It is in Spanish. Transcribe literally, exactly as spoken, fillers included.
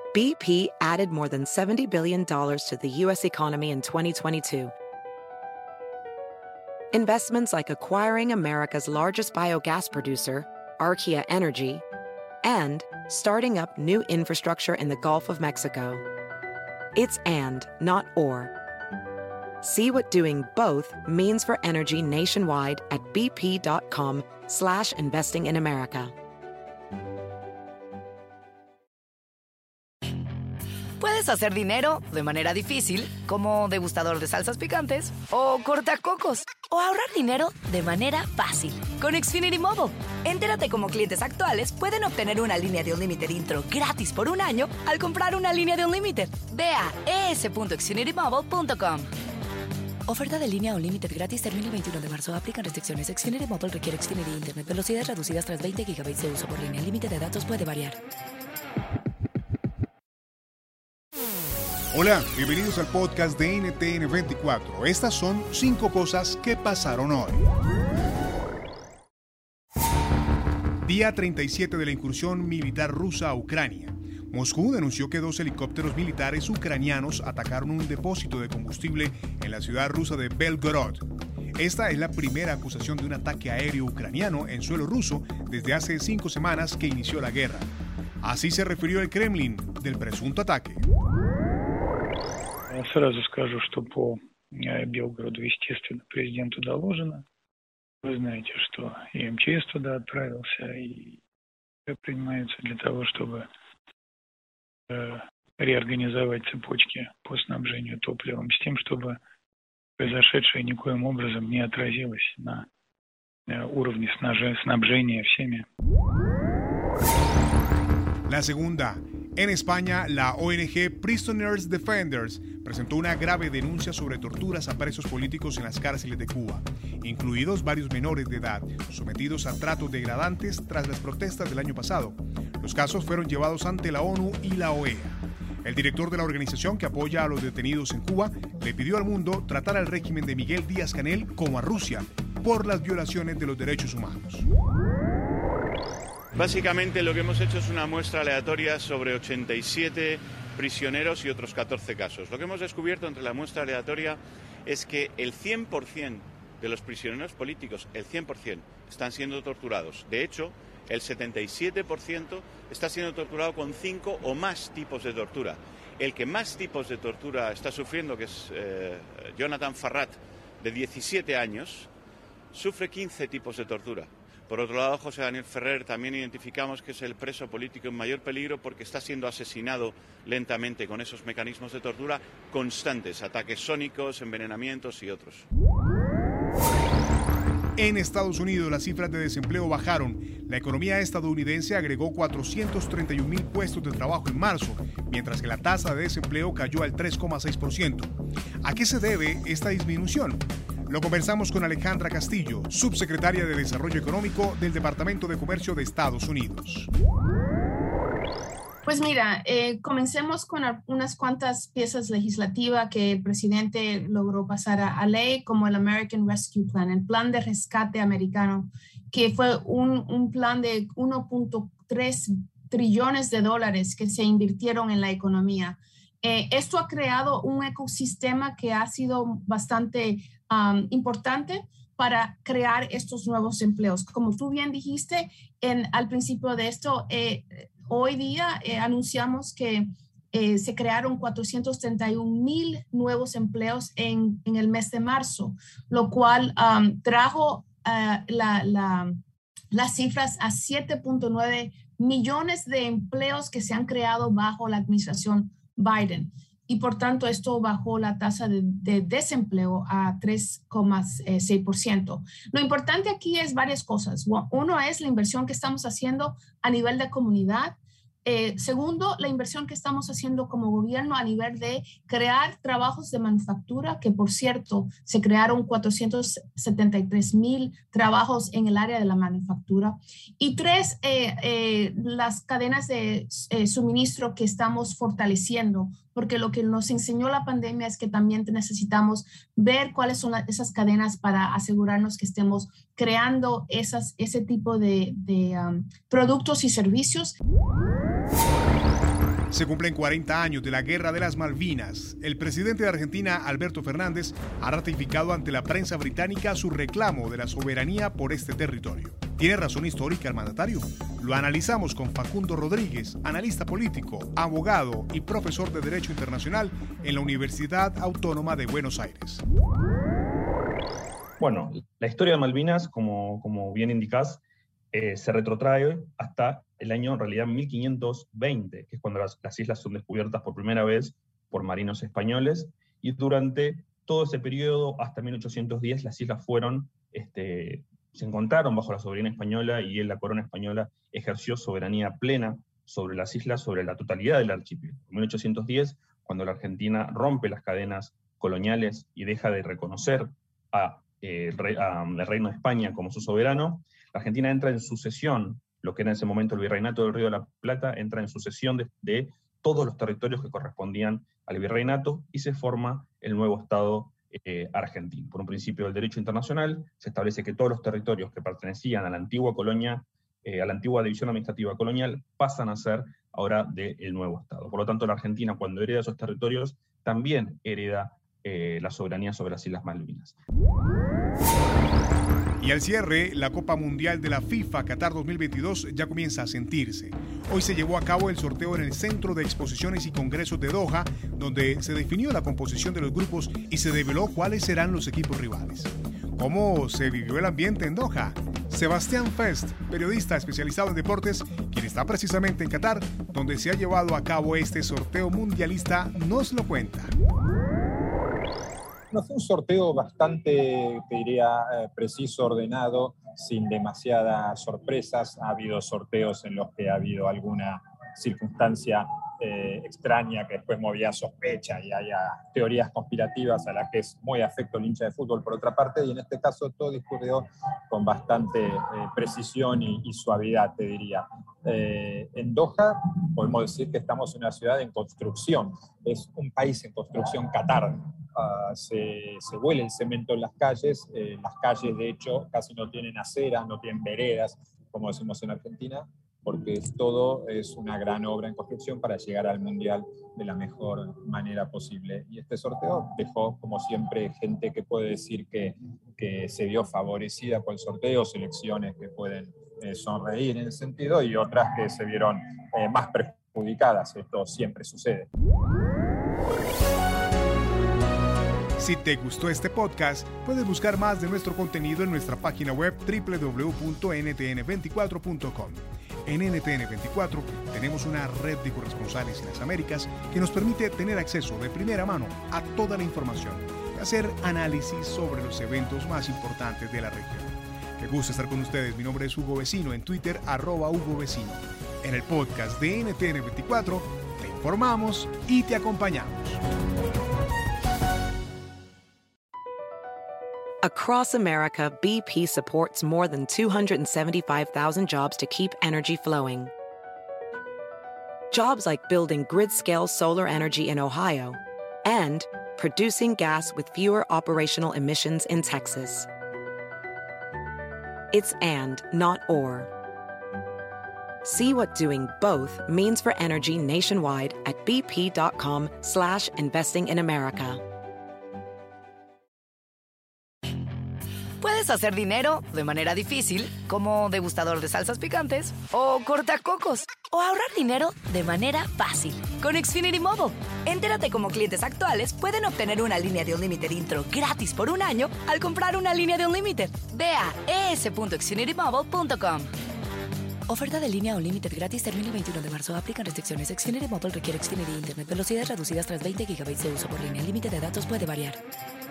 B P added more than seventy billion dollars to the U S economy in twenty twenty-two. Investments like acquiring America's largest biogas producer, Archaea Energy, and starting up new infrastructure in the Gulf of Mexico. It's and, not or. See what doing both means for energy nationwide at bp.com slash investing in America. Puedes hacer dinero de manera difícil, como degustador de salsas picantes, o cortacocos, o ahorrar dinero de manera fácil con Xfinity Mobile. Entérate cómo clientes actuales pueden obtener una línea de Unlimited intro gratis por un año al comprar una línea de Unlimited. Ve a e s punto xfinity mobile punto com. Oferta de línea Unlimited gratis termina el veintiuno de marzo. Aplican restricciones. Xfinity Mobile requiere Xfinity Internet. Velocidades reducidas tras veinte gigabytes de uso por línea. El límite de datos puede variar. Hola, bienvenidos al podcast de N T N veinticuatro. Estas son cinco cosas que pasaron hoy. Día treinta y siete de la incursión militar rusa a Ucrania. Moscú denunció que dos helicópteros militares ucranianos atacaron un depósito de combustible en la ciudad rusa de Belgorod. Esta es la primera acusación de un ataque aéreo ucraniano en suelo ruso desde hace cinco semanas que inició la guerra. Así se refirió el Kremlin del presunto ataque. Сразу скажу, что по Белгороду, естественно, президенту доложено. Вы знаете, что и эм че эс туда отправился, и принимается для того, чтобы э, реорганизовать цепочки по снабжению топливом, с тем, чтобы произошедшее никоим образом не отразилось на э, уровне снабжения всеми. La segunda. En España, la O N G Prisoners Defenders presentó una grave denuncia sobre torturas a presos políticos en las cárceles de Cuba, incluidos varios menores de edad, sometidos a tratos degradantes tras las protestas del año pasado. Los casos fueron llevados ante la ONU y la O E A. El director de la organización que apoya a los detenidos en Cuba le pidió al mundo tratar al régimen de Miguel Díaz-Canel como a Rusia por las violaciones de los derechos humanos. Básicamente lo que hemos hecho es una muestra aleatoria sobre ochenta y siete prisioneros y otros catorce casos. Lo que hemos descubierto entre la muestra aleatoria es que el cien por ciento de los prisioneros políticos, el cien por ciento, están siendo torturados. De hecho, el setenta y siete por ciento está siendo torturado con cinco o más tipos de tortura. El que más tipos de tortura está sufriendo, que es eh, Jonathan Farrat, de diecisiete años, sufre quince tipos de tortura. Por otro lado, José Daniel Ferrer también identificamos que es el preso político en mayor peligro porque está siendo asesinado lentamente con esos mecanismos de tortura constantes, ataques sónicos, envenenamientos y otros. En Estados Unidos, las cifras de desempleo bajaron. La economía estadounidense agregó cuatrocientos treinta y un mil puestos de trabajo en marzo, mientras que la tasa de desempleo cayó al tres coma seis por ciento. ¿A qué se debe esta disminución? Lo conversamos con Alejandra Castillo, subsecretaria de Desarrollo Económico del Departamento de Comercio de Estados Unidos. Pues mira, eh, comencemos con unas cuantas piezas legislativas que el presidente logró pasar a, a ley, como el American Rescue Plan, el plan de rescate americano, que fue un, un plan de uno punto tres trillones de dólares que se invirtieron en la economía. Eh, esto ha creado un ecosistema que ha sido bastante um, importante para crear estos nuevos empleos. Como tú bien dijiste en, al principio de esto, eh, hoy día eh, anunciamos que eh, se crearon cuatrocientos treinta y un mil nuevos empleos en, en el mes de marzo, lo cual um, trajo uh, la, la, las cifras a siete punto nueve millones de empleos que se han creado bajo la administración Biden. Y por tanto, esto bajó la tasa de, de desempleo a tres coma seis por ciento. Lo importante aquí es varias cosas. Uno es la inversión que estamos haciendo a nivel de comunidad. Eh, segundo, la inversión que estamos haciendo como gobierno a nivel de crear trabajos de manufactura, que por cierto se crearon cuatrocientos setenta y tres mil trabajos en el área de la manufactura. Y tres, eh, eh, las cadenas de eh, suministro que estamos fortaleciendo, porque lo que nos enseñó la pandemia es que también necesitamos ver cuáles son las, esas cadenas para asegurarnos que estemos creando esas, ese tipo de, de um, productos y servicios. Se cumplen cuarenta años de la Guerra de las Malvinas. El presidente de Argentina, Alberto Fernández, ha ratificado ante la prensa británica su reclamo de la soberanía por este territorio. ¿Tiene razón histórica el mandatario? Lo analizamos con Facundo Rodríguez, analista político, abogado y profesor de Derecho Internacional en la Universidad Autónoma de Buenos Aires. Bueno, la historia de Malvinas, como, como bien indicás, eh, se retrotrae hasta el año, en realidad, mil quinientos veinte, que es cuando las, las islas son descubiertas por primera vez por marinos españoles, y durante todo ese periodo, hasta mil ochocientos diez, las islas fueron, este, se encontraron bajo la soberanía española, y la corona española ejerció soberanía plena sobre las islas, sobre la totalidad del archipiélago. En mil ochocientos diez, cuando la Argentina rompe las cadenas coloniales y deja de reconocer a Eh, rey, a, el Reino de España como su soberano, la Argentina entra en sucesión, lo que era en ese momento el Virreinato del Río de la Plata, entra en sucesión de, de todos los territorios que correspondían al virreinato, y se forma el nuevo Estado eh, argentino. Por un principio del derecho internacional, se establece que todos los territorios que pertenecían a la antigua colonia, eh, a la antigua división administrativa colonial, pasan a ser ahora del nuevo Estado. Por lo tanto, la Argentina, cuando hereda esos territorios, también hereda eh, la soberanía sobre las Islas Malvinas. Y al cierre, la Copa Mundial de la FIFA Qatar dos mil veintidós ya comienza a sentirse. Hoy se llevó a cabo el sorteo en el Centro de Exposiciones y Congresos de Doha, donde se definió la composición de los grupos y se develó cuáles serán los equipos rivales. ¿Cómo se vivió el ambiente en Doha? Sebastián Fest, periodista especializado en deportes, quien está precisamente en Qatar, donde se ha llevado a cabo este sorteo mundialista, nos lo cuenta. No, fue un sorteo bastante, te diría, eh, preciso, ordenado, sin demasiadas sorpresas. Ha habido sorteos en los que ha habido alguna circunstancia eh, extraña que después movía sospecha y haya teorías conspirativas a las que es muy afecto el hincha de fútbol, por otra parte, y en este caso todo discurrió con bastante eh, precisión y, y suavidad, te diría. Eh, en Doha podemos decir que estamos en una ciudad en construcción, es un país en construcción, Qatar. Uh, se, se huele el cemento en las calles, eh, las calles de hecho casi no tienen aceras, no tienen veredas, como decimos en Argentina, porque es, todo es una gran obra en construcción para llegar al Mundial de la mejor manera posible. Y este sorteo dejó, como siempre, gente que puede decir que, que se vio favorecida por el sorteo, selecciones que pueden eh, sonreír en ese sentido, y otras que se vieron eh, más perjudicadas. Esto siempre sucede. Si te gustó este podcast, puedes buscar más de nuestro contenido en nuestra página web doble u doble u doble u punto ene te ene veinticuatro punto com. En N T N veinticuatro tenemos una red de corresponsales en las Américas que nos permite tener acceso de primera mano a toda la información y hacer análisis sobre los eventos más importantes de la región. Qué gusto estar con ustedes. Mi nombre es Hugo Vecino, en Twitter, arroba Hugo Vecino. En el podcast de N T N veinticuatro te informamos y te acompañamos. Across America, B P supports more than two hundred seventy-five thousand jobs to keep energy flowing. Jobs like building grid-scale solar energy in Ohio and producing gas with fewer operational emissions in Texas. It's and, not or. See what doing both means for energy nationwide at bp.com slash investing in America. Puedes hacer dinero de manera difícil, como degustador de salsas picantes, o cortacocos, o ahorrar dinero de manera fácil con Xfinity Mobile. Entérate cómo clientes actuales pueden obtener una línea de Unlimited intro gratis por un año al comprar una línea de Unlimited. Ve a e s punto xfinity mobile punto com. Oferta de línea Unlimited gratis termina el veintiuno de marzo. Aplican restricciones. Xfinity Mobile requiere Xfinity Internet. Velocidades reducidas tras veinte gigabytes de uso por línea. El límite de datos puede variar.